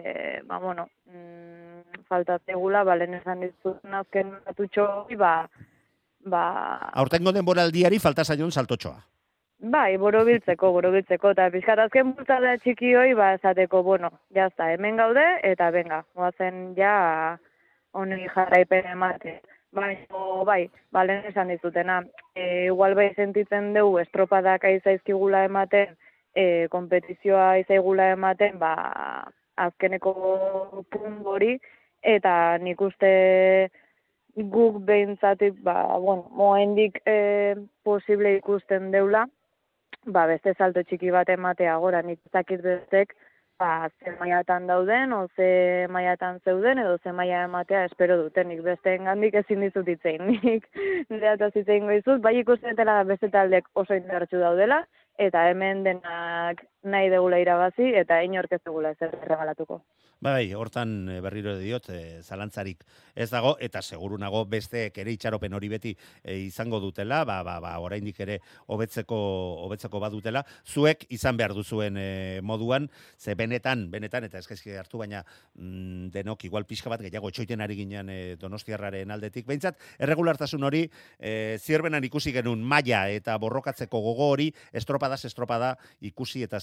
faltatzegula, lehen esan dizut azken batutxo hori, Aurtengo denboraldiari falta zaion saltotxoa. Bai, borobiltzeko, eta pixkat azken bultzada txiki hoi, esateko, jazta, hemen gaude, eta benga, goazen ja honi jarraipen emate. Bai, lehen esan dizutena, igual bai sentitzen dugu estropadak aizaizkigula ematen, kompetizioa aizaigula ematen, azkeneko punt hori, eta nik uste guk behintzatik, moendik posible ikusten deula, beste salto txiki bat ematea gora, nik zakit bestek, ze maiatan dauden, o ze maiatan zeuden, edo ze maia ematea espero duten, nik beste engandik ezin dizut itzein, nik nereataz itzein goizut, bai ikusten dela beste taldek oso indartsu daudela, eta hemen denak nahi degula irabazi, eta inork ez degula ezer regalatuko. Bai, hortan berriro diot, zalantzarik ez dago, eta seguru nago besteek ere itxaropen hori beti izango dutela, oraindik ere hobetzeko badutela, zuek izan behar duzuen moduan, ze benetan, eta eskaizki hartu, baina denok igual pixka bat gehiago etxoiten ari ginen Donostiarraren aldetik. Behintzat, erregulartasun hori, zierbenan ikusi genuen maila eta borrokatzeko gogo hori, estropada ikusi eta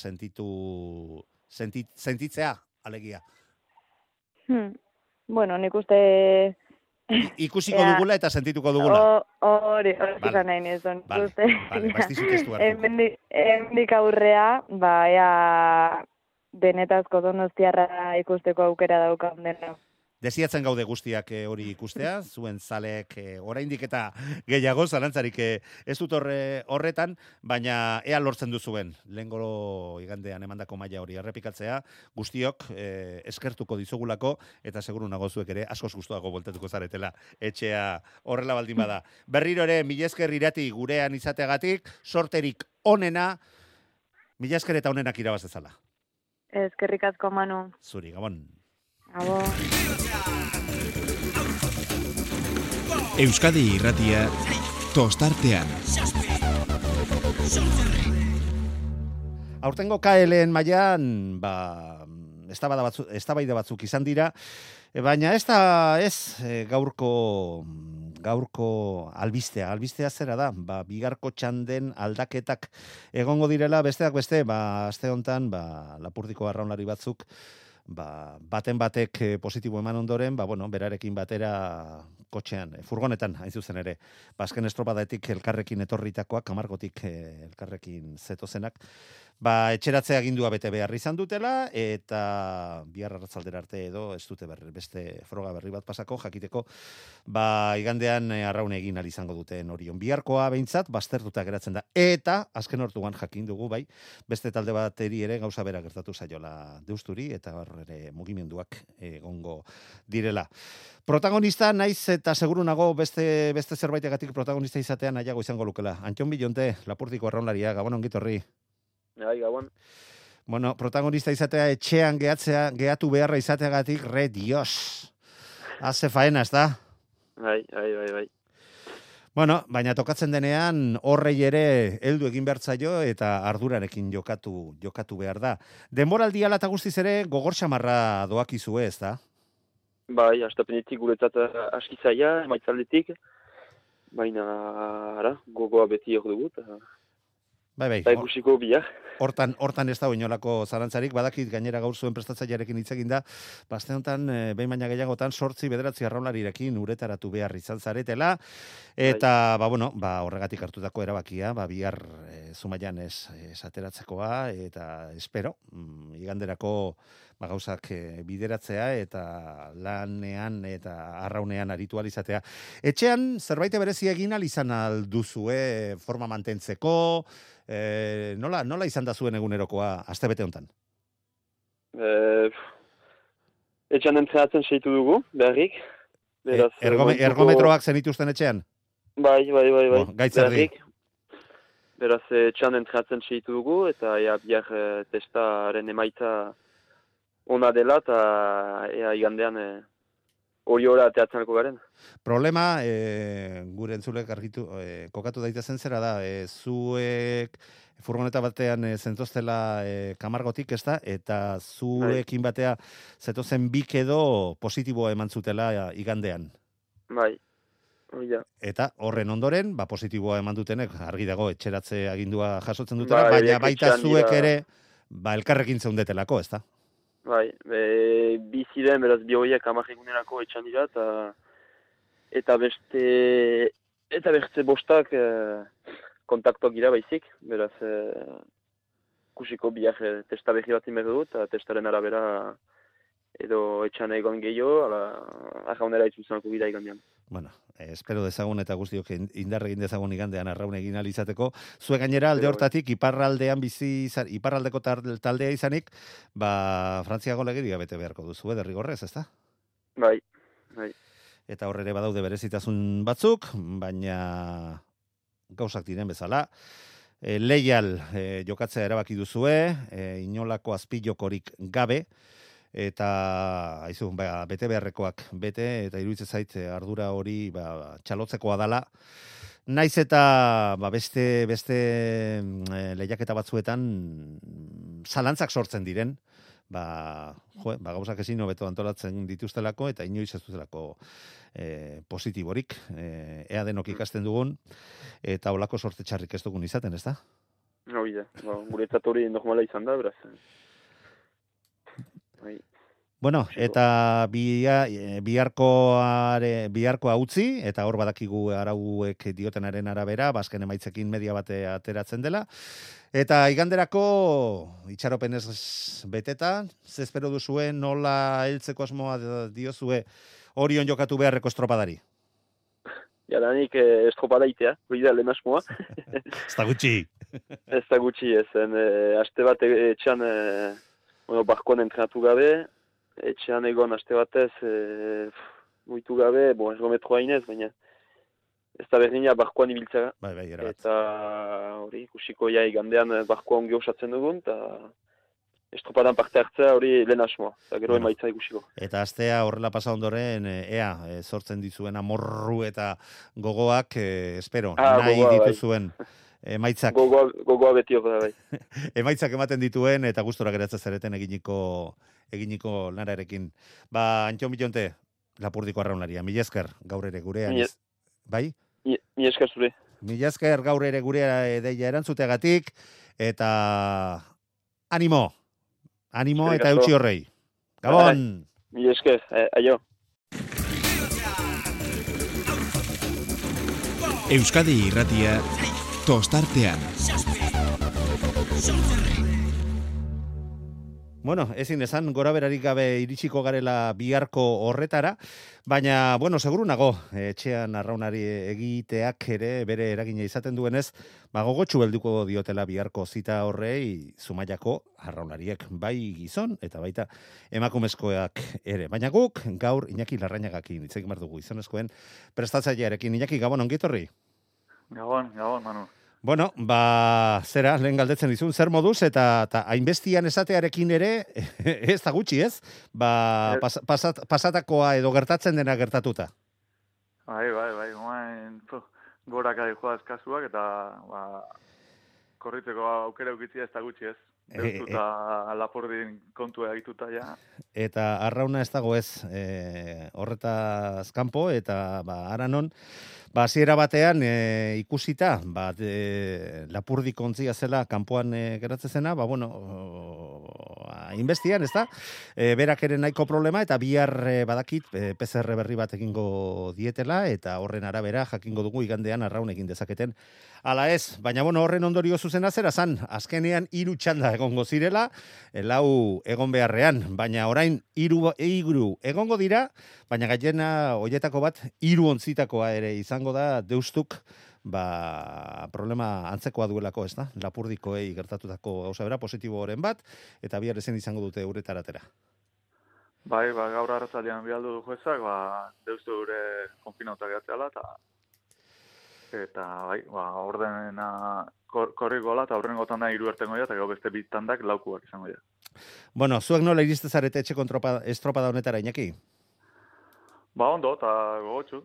sentitzea, alegia. Nik uste... Ikusiko dugula eta sentituko dugula. Hori izan nahi nizun. Baiztizut ez du hartu. Hemendik aurrea, ea benetazko Donostiarra ikusteko aukera daukan dena. Desiatzen gaude guztiak hori ikustea, zuen zaleek oraindik eta gehiago, zalantzarik ez dut horretan, baina ea lortzen duzuen, lehengo igandean emandako maila hori errepikatzea, guztiok eskertuko dizugulako, eta seguru nago zuek ere askoz gustuago voltatuko zaretela etxea horrela baldin bada. Berriro ere, mila esker Irati gurean izateagatik, sorterik onena, mila esker eta onenak irabaz dezala. Eskerrik asko, Manu. Zuri, Gabon. Abo. Euskadi Irratia tostartean. Aurtengo KLen mailan, eztabaida batzuk izan dira, baina ez da gaurko albistea zera da, bigarko txanden aldaketak egongo direla, besteak beste, aste hontan, Lapurdiko arraunlari batzuk, baten batek positibo eman ondoren, berarekin batera kotxean, furgonetan, hain zuzen ere, azken estropadaetik elkarrekin etorritakoak, Kamargotik elkarrekin zetozenak, etxeratzea agindua bete behar izan dutela, eta bihar arratzaldera arte edo ez dute beste froga berri bat pasako, jakiteko, igandean arraun egin izango duten Orion. Biharkoa behintzat, baztertuta geratzen da. Eta, azken hortuan jakin dugu, beste talde bateri ere gauza bera gertatu zaiola Deusturi, eta ere mugimenduak egongo direla. Protagonista naiz eta seguru nago beste zerbaitegatik protagonista izatean nahiago izango lukela. Antxon Bilonte, Lapurdiko arraunlaria, Gabon ongitorri. Gabon. Protagonista izatea etxean gehatu beharra izateagatik, Dios. Haze faena, ez da? Bai. Bueno, baina tokatzen denean horrei ere heldu egin behar zaio eta ardurarekin jokatu behar da. Denboraldi ala eta guztiz ere gogor xamarra doakizue, ez da? Bai, astapenetik guretzat aski zaila, emaitzaldetik, baina gogoa beti hor dugu, Bai. eta ikusiko bihar. Hortan ez da inolako zalantzarik, badakit gainera gaur zuen prestatzailearekin hitz egin da, aste honetan, behin baina gehiagotan, 8-9 arraunlarirekin uretaratu behar izan zaretela, eta, horregatik hartutako erabakia, bihar Zumaian esateratzekoa, eta espero, iganderako gauzak bideratzea, eta lanean eta arraunean aritu alizatea. Etxean, zerbait berezia egin alizan alduzue forma mantentzeko, nola izan da zuen egunerokoa astebete hontan? Etxean entrenatzen seitu dugu, beharrik. Ergometroak zenituzten etxean? Bai. Gaitzerdi. Beraz, etxean entrenatzen seitu dugu, eta bihar testaren emaitza ona dela, eta igandean hori hori ateatzenako garen. Problema, gure entzulek argitu, kokatu daitezen zera da, zuek furgoneta batean zentoztela kamargotik, ez da, eta zuekin batea zetozen bik edo positiboa eman zutela igandean. Bai, hori da. Eta horren ondoren, positiboa eman dutenek, argi dago, etxeratze agindua jasotzen dutela, baina baita zuek ere, elkarrekin zeundetelako, ez da? Bai, biziren, beraz, bi horiek amajegunerako etxan dira, eta beste bostak kontaktuak gira baizik, beraz, kusiko biak testa behi bat inberdu dut, eta testaren arabera edo etxan egon gehiago, arraunera itzulzenako gira igandean. Bueno, espero dezagun eta guztiok indarregin dezagun igandean arraun egin alizateko. Zue gainera alde hortatik, iparraldeko taldea izanik, Frantziako legedia bete beharko duzu, derrigorrez, ez da? Bai. Eta horre ere badaude berezitasun batzuk, baina gauzak diren bezala. Leial jokatzea erabaki duzue, inolako azpilokorik gabe, eta bete beharrekoak bete, eta iruditzen zait ardura hori txalotzekoa dala. Naiz eta beste lehiaketa batzuetan zalantzak sortzen diren, gauzak ezin hobeto antolatzen dituztelako, eta inoiz ez dutelako positiborik, ea denok ikasten dugun, eta olako sorte txarrik ez dugun izaten, ez da? Hori da, guretzat hori normala izan da, beraz. Bueno, eta biharkoa utzi, eta hor badakigu arauek diotenaren arabera, bazken emaitzekin media bate ateratzen dela. Eta iganderako itxaropenez beteta, zespero duzue, nola heltzeko asmoa diozue Orion jokatu beharreko estropadari? Jadanik estropada itea, hori da lehen asmoa. Ez da gutxi. Ez da gutxi, aste bat etxean barkoan entrenatu gabe, etxean egon aste batez muitu gabe, ergometroa inez, baina ez da berdina barkoan ibiltzara. Bai, erabat. Eta hori ikusiko igandean barkoa ongi osatzen dugun, eta estropadan parte hartzea hori lehen asmoa, eta gero emaitza ikusiko. Eta astea horrela pasa ondoren, sortzen dizuen amorru eta gogoak, espero, nahi dituzuen. Emaitzak. Gogoa beti hor da, bai. Emaitzak ematen dituen eta gustora geratzen zareten eginiko lanarekin. Antxo Milonte, Lapurdiko arraunaria. Mila esker gaur ere gurean. Bai? Mila esker zure. Mila esker gaur ere gurea deia erantzuteagatik eta animo eta eutxi horrei. Gabon! Mila esker, aio. Euskadi Irratia tostartean. Bueno, ezin esan gora berarik gabe iritsiko garela biharko horretara, baina, seguru nago, etxean arraunari egiteak ere bere eragina izaten duenez, gogotsu helduko diotela biharko zita horrei Zumaiako arraunariek, bai gizon eta baita emakumezkoak ere. Baina guk gaur Iñaki Larrañagakin hitz egin behar dugu gizonezkoen prestatzailearekin. Iñaki, gabon, ongi etorri? Gabon, Manu. Bueno, zera, lehen galdetzen dizun, zer moduz, eta hainbestian esatearekin ere, ez da gutxi, ez? Pasatakoa edo gertatzen dena gertatuta. Bai, gorakari joa eskasuak, eta korritzeko aukera eukitzia ez da gutxi ez. Deustuta Lapurdin kontua egituta ja. Eta arrauna ez dago ez, horretaz kanpo, eta aranon, hasiera batean ikusita, Lapurdi kontzia zela kanpoan geratzen zena, inbestian, ez da? Berak ere nahiko problema, eta bihar badakit PCR berri bat egingo dietela, eta horren arabera jakingo dugu igandean arraun egin dezaketen. Ala ez, baina horren ondorio zuzena zera zan, azkenean 3 txanda egongo zirela, 4 egon beharrean, baina orain 3 egongo dira, baina gailena hoietako bat 3 ontzitakoa ere izango da Deustuk, problema antzekoa duelako, ez da? Lapurdikoei gertatutako gauza bera, positibo horren bat, eta bihar ezen izango dute uretaratera. Bai, gaur arratzaldean bialdu du juezak, Deustu gure konfinauta gehatzeala, eta ordena korriko eta aurrengo tanda 3 ertengo eta gau beste 2 tandak 4 izango dira. Bueno, zuek nola iriste zarete etxeko estropada honetara, Iñaki? Ondo, eta gogotxu,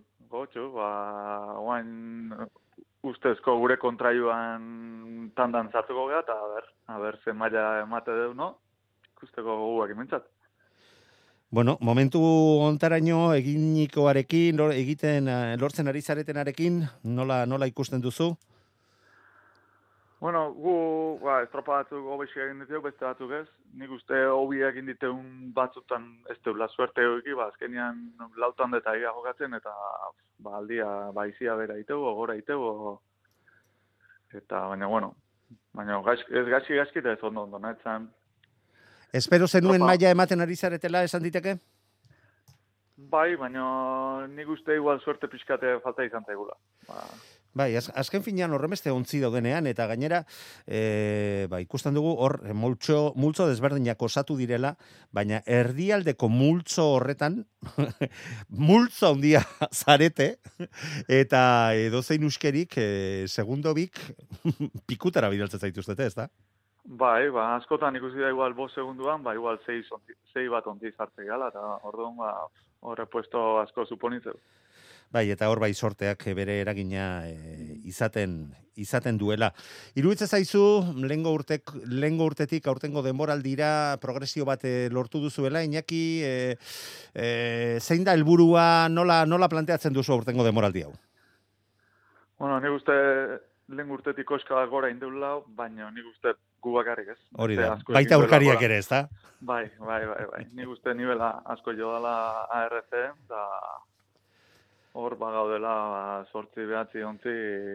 oain ustezko gure kontraioan tandan zartuko gara, eta a ber, ze maila emate deu, no? Ikusteko goguak imentzat. Bueno, momentu ontaraino eginikoarekin, lortzen ari zaretenarekin, nola ikusten duzu? Bueno, gu estropa batzuk hobexi egin ditu, beste batzuk ez. Nik uste hobi egin diteun batzutan ez deula suerte hoiki, azkenean lautan eta egia jokatzen, eta aldia izia bera itego, gora itego. Eta, baina ez gaizki eta ez ondo, nahetzen. Espero zenuen maila ematen ari zaretela esan diteke? Bai, baina nik uste igual suerte pixkate falta izan zaigula. Bai, azken finean horremeste ontzi daudenean, eta gainera, ikusten dugu hor multzo desberdinak osatu direla, baina erdialdeko multzo horretan, multzo handia zarete, eta edozein uskerik, segundo bik, pikutara bidaltzen zaituztete, ez da? Bai, askotan ikusi da igual 5 segunduan, igual 6 bat ontzi zartze gala, eta orduan horre puesto asko suponitzeu. Bai, eta hor sorteak bere eragina izaten duela. Iruditzen zaizu, lehengo urtetik aurtengo denboraldira progresio bat lortu duzuela, Iñaki, zein da helburua, nola planteatzen duzu aurtengo denboraldi hau? Bueno, nik uste lehen urtetik koska gora indeula, baina nik uste gu bakarrik ez. Hori da, baita aurkariak ere ez da? Bai. Nik uste nivela asko jo dela ARC, da hor gaudela 8-9 ontzi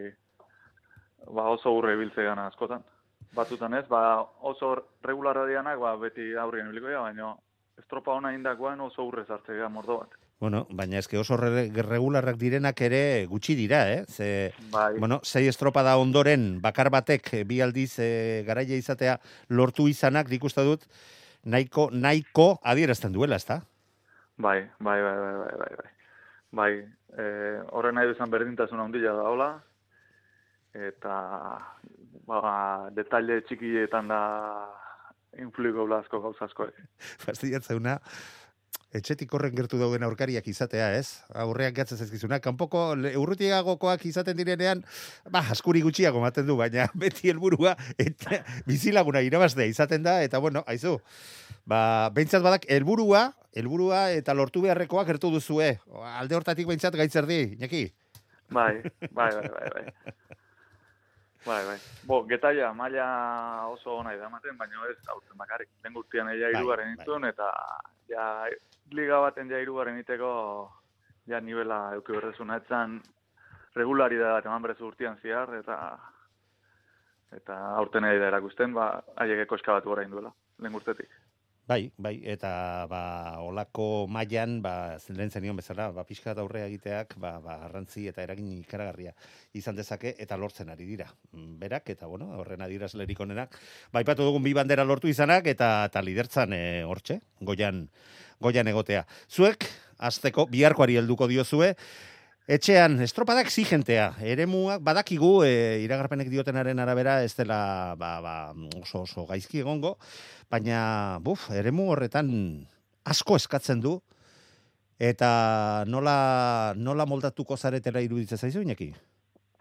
oso urre ibiltze gana askotan. Batzutan ez, oso regularra dianak beti aurrien ibiliko dira, baina estropa hona indakoan oso urre zartze gara mordo bat. Bueno, baina eske oso regularrak direnak ere gutxi dira, Ze, bai. 6 estropa da ondoren, bakar batek 2 aldiz garaia izatea lortu izanak, nik uste dut, nahiko adierazten duela, ez da? Bai. Horren nahi duzan berdintasun handia da hola, eta detalle txikietan da influiko blazko gauzasko. Fastidiatzeuna, etxetik horren gertu dauden aurkariak izatea, ez? Aurrean gatzen zaizkizuna. Kanpoko urrutiagokoak izaten direnean, askuri gutxiago maten du, baina beti helburua eta bizilaguna irabaztea izaten da, eta aizu, behintzat badak helburua eta lortu beharrekoak gertu duzue. Alde hortatik behintzat gaitzer di, Iñaki? Bai. Getaia, maila oso ona idamaten, baina ez aurten bakarrik. Lehen guztian egia 3 itun, eta liga baten 3 iteko nivela euki berrezuna etzan regularidad eman berezu urtean ziar, eta aurten da erakusten, haiek koska bat gora induela, lehen urtetik. Bai, eta olako mailan, lehen zenion bezala, pixka aurrea egiteak, garrantzi eta eragin ikaragarria izan dezake, eta lortzen ari dira. Berak, eta horren adierazlerik onenak, aipatu dugun 2 bandera lortu izanak, eta lidertzan hortxe, goian egotea. Zuek, azteko, biharkoari helduko diozue, etxean, estropada exigentea, eremuak badakigu, iragarpenek diotenaren arabera, ez dela oso gaizki egongo, baina, eremu horretan asko eskatzen du, eta nola moldatuko zaretela iruditzen zaizu, Iñaki?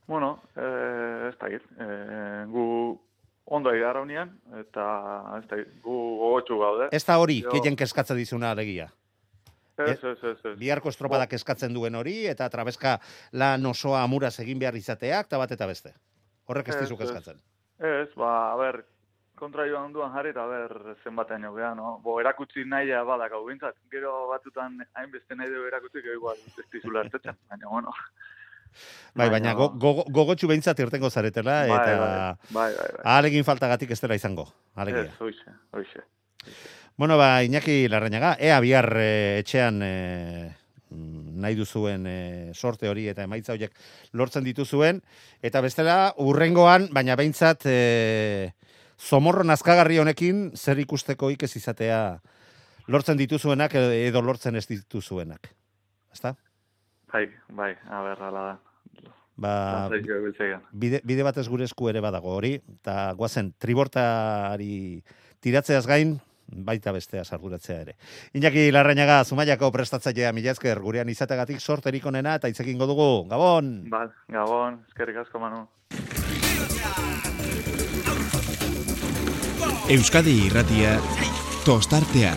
Bueno, ez da git. Gu ondo egarra unian, eta ez da git, gu gogotxu gaude. Ez da hori, gehien keskatzen dizuna alegia. Ez. Biharko estropadak eskatzen duen hori, eta trabeska lan osoa amuraz egin behar izateak, eta bat eta beste. Horrek ez dizuk eskatzen. Ez, a ber, kontra joan duan jarri, eta ber, zenbatean jogea, no? Erakutsi nahi badak hau bintzat. Gero batutan hainbeste nahi dugu erakutsi, gero igual ez dizula hartetzen, baina, bueno. Baina gogotxu behintzat irtengo zaretela, eta ahalegin faltagatik ez dela izango. Ez, hoixe. Bueno, Iñaki Larrañaga, ea bihar etxean nahi duzuen sorte hori eta emaitza horiek lortzen dituzuen, eta bestela urrengoan, baina behintzat zomorro nazkagarri honekin zer ikusteko ez izatea lortzen dituzuenak edo lortzen ez dituzuenak. Ezta? Bai, a ber, ala da. Bide batez gure esku ere badago hori, eta guazen, tribortari tiratzeaz gain, baita bestea sarduratzea ere. Iñaki Larrañaga, Zumaiako prestatzailea, mila esker, gurean izategatik sorterik onena, eta itzekin dugu. Gabon! Gabon, eskerrik asko, Manu. Euskadi Irratia, tostartean.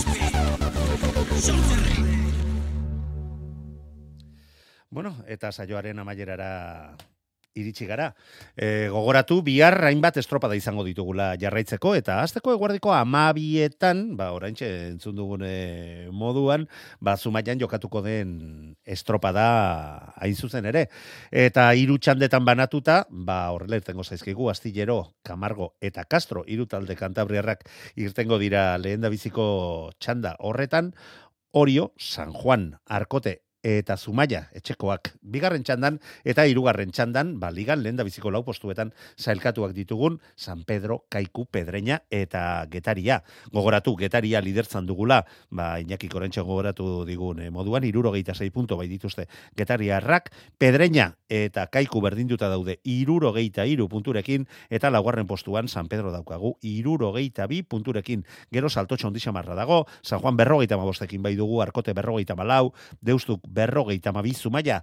Bueno, eta saioaren amaierara iritsi gara. Gogoratu, bihar hainbat estropada izango ditugula jarraitzeko, eta hasteko eguerdiko 12etan, oraintxe entzun dugun moduan, Zumaian jokatuko den estropada hain zuzen ere. Eta 3 txandetan banatuta, horrela irtengo zaizkigu, Astillero, Camargo eta Castro, 3 talde kantabriarrak irtengo dira lehendabiziko txanda horretan, Orio, San Juan, Arkote eta Zumaia etxekoak bigarren txandan eta 3. txandan, ligan lehendabiziko 4 postuetan sailkatuak ditugun San Pedro, Kaiku, Pedreña eta Getaria. Gogoratu, Getaria lidertzan dugula, Iñaki Korentxe gogoratu digun moduan, 76 punto bai dituzte Getariarrak, Pedreña eta Kaiku berdinduta daude 73 punturekin, eta 4. postuan San Pedro daukagu 72 punturekin. Gero saltotxo ondixamarra dago, San Juan 55ekin bai dugu, Arkote 54, Deustuk 52, Zumaia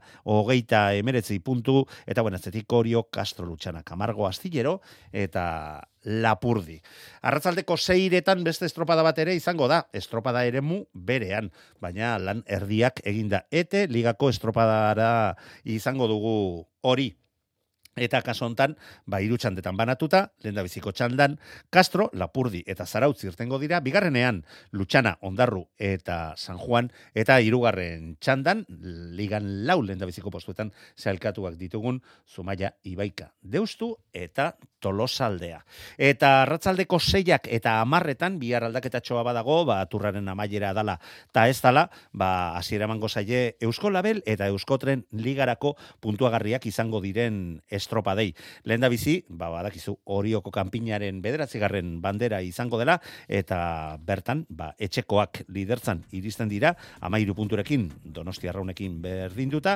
39 puntu, eta atzetik Orio, Castro, Lutxana, Camargo, Astillero eta Lapurdi. Arratzaldeko 6etan beste estropada bat ere izango da, estropada eremu berean, baina lan erdiak eginda. Ete ligako estropadara izango dugu hori. Eta kaso hontan, 3 txandetan banatuta, lehendabiziko txandan, Castro, Lapurdi eta Zarautz irtengo dira, bigarrenean Lutxana, Ondarru eta San Juan, eta 3. txandan, ligan 4 lehendabiziko postuetan sailkatuak ditugun Zumaia, Ibaika, Deustu eta Tolosaldea. Eta arratzaldeko 6ak eta 10etan, bihar aldaketatxoa badago, aturraren amaiera dala, eta ez dala, hasiera emango zaie Eusko Label eta Euskotren ligarako puntuagarriak izango diren estropadei. Lehendabizi, badakizu Orioko kanpinaren 9. bandera izango dela, eta bertan, etxekoak lidertzan iristen dira, 13 punturekin, Donostiarraunekin berdinduta,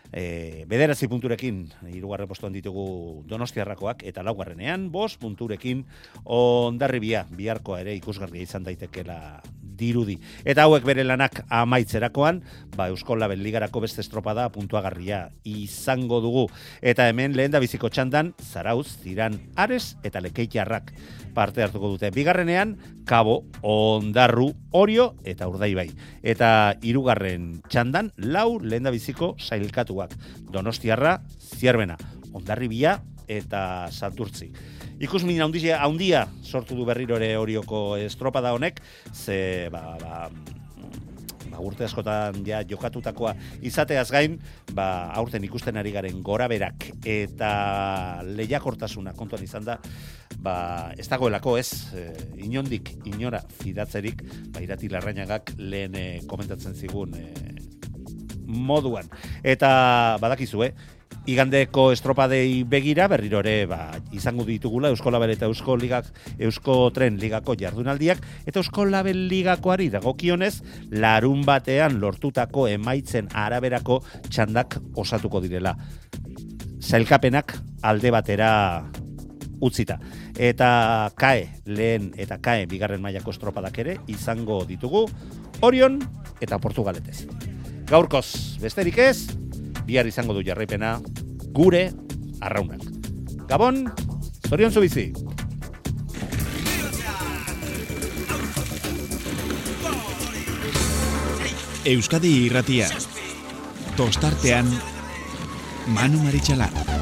9 punturekin 3. postuan ditugu Donostiarrakoak, eta 4. 5 punturekin Hondarribia, biharkoa ere ikusgarria izan daitekela dirudi. Eta hauek bere lanak amaitzerakoan, Eusko Label ligarako beste estropada puntuagarria izango dugu. Eta hemen lehendabiziko txandan, Zarauz, Ziran, Ares eta Lekeitarrak parte hartuko dute. Bigarrenean, Kabo, Ondarru, Orio eta Urdaibai. Eta 3. txandan, 4 lehendabiziko sailkatuak. Donostiarra, Zierbena, Hondarribia eta Santurtzi. Ikusmin handia sortu du berriro ere Orioko estropada honek, ze urte askotan jokatutakoa izateaz gain, aurten ikusten ari garen goraberak eta lehiakortasuna kontuan izan da, ez dagoelako inondik inora fidatzerik, Irati Larrañagak lehen komentatzen zigun moduan. Eta badakizue, igandeko estropadei begira, berriro ere izango ditugula Eusko Label eta Eusko Tren ligako jardunaldiak, eta Eusko Label ligakoari dagokionez, larun batean lortutako emaitzen araberako txandak osatuko direla. Sailkapenak alde batera utzita. Eta KAE lehen eta KAE bigarren mailako estropadak ere izango ditugu Orion eta Portugaletez. Gaurkoz, besterik ez, bihar izango du jarraipena gure arraunak. Gabon, zorion zu bizi. Euskadi Irratia. Tostartean Manu Maritxalar.